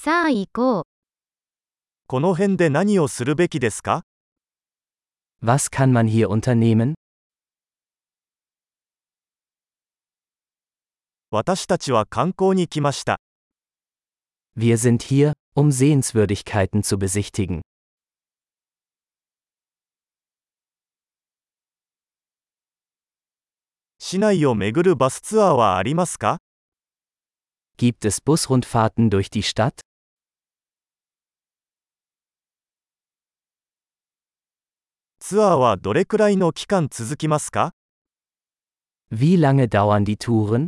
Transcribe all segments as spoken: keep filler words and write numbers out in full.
さあ行こう。 この辺で何をするべきですか？ Was kann man hier unternehmen? 私たちは観光に来ました。 Wir sind hier, um Sehenswürdigkeiten zu besichtigen. 市内を巡るバスツアーはありますか？ Gibt es Busrundfahrten durch die Stadt? ツアーはどれくらいの期間続きますか？ Wie lange dauern die Touren?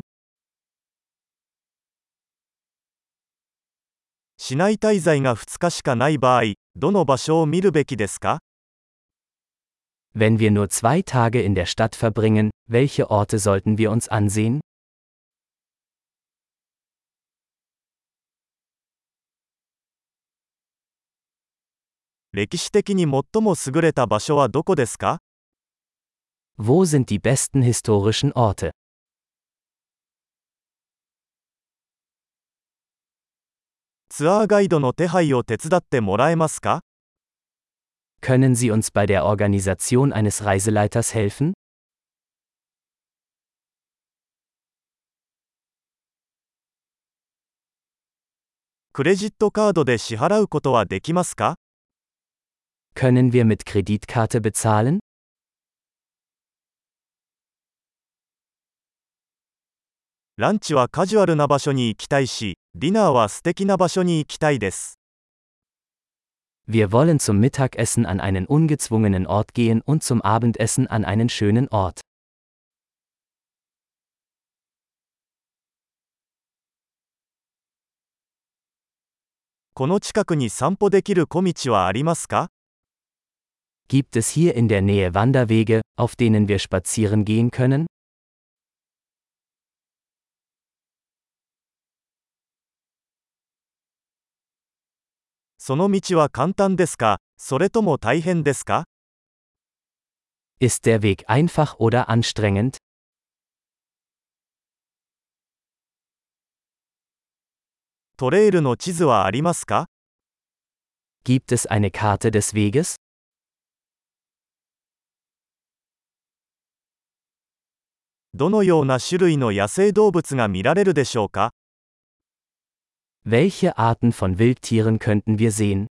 市内滞在がふつかしかない場合、どの場所を見るべきですか？ Wenn wir nur zwei Tage in der Stadt verbringen, welche Orte sollten wir uns ansehen? 歴史的に最も優れた場所はどこですか？ Wo sind die besten historischen Orte? ツアーガイドの手配を手伝ってもらえますか？ Können Sie uns bei der Organisation eines Reiseleiters helfen? クレジットカードで支払うことはできますか？ Können wir mit Kreditkarte bezahlen? ランチはカジュアルな場所に行きたいし、ディナーは素敵な場所に行きたいです。 Wir wollen zum Mittagessen an einen ungezwungenen Ort gehen und zum Abendessen an einen schönen Ort. この近くに散歩できる小道はありますか？ Gibt es hier in der Nähe Wanderwege, auf denen wir spazieren gehen können? その道は簡単ですか、それとも大変ですか？ Ist der Weg einfach oder anstrengend? トレイルの地図はありますか？ Gibt es eine Karte des Weges? どのような種類の野生動物が見られるでしょうか？ Welche Arten von Wildtieren könnten wir sehen?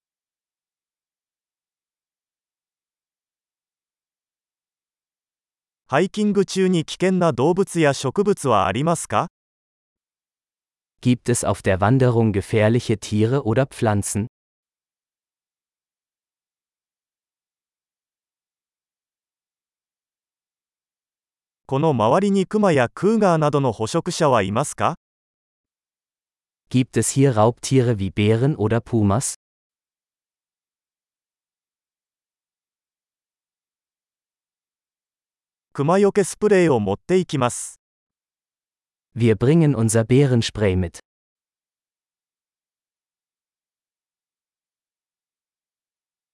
ハイキング中に危険な動物や植物はありますか？ Gibt es auf der Wanderung gefährliche Tiere oder Pflanzen? この周りにクマやクーガーなどの捕食者はいますか？ Gibt es hier Raubtiere wie Bären oder Pumas? クマよけスプレーを持っていきます。 Wir bringen unser Bärenspray mit.